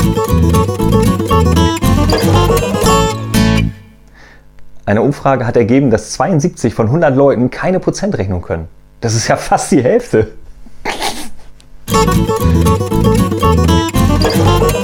Eine Umfrage hat ergeben, dass 72 von 100 Leuten keine Prozentrechnung können. Das ist ja fast die Hälfte.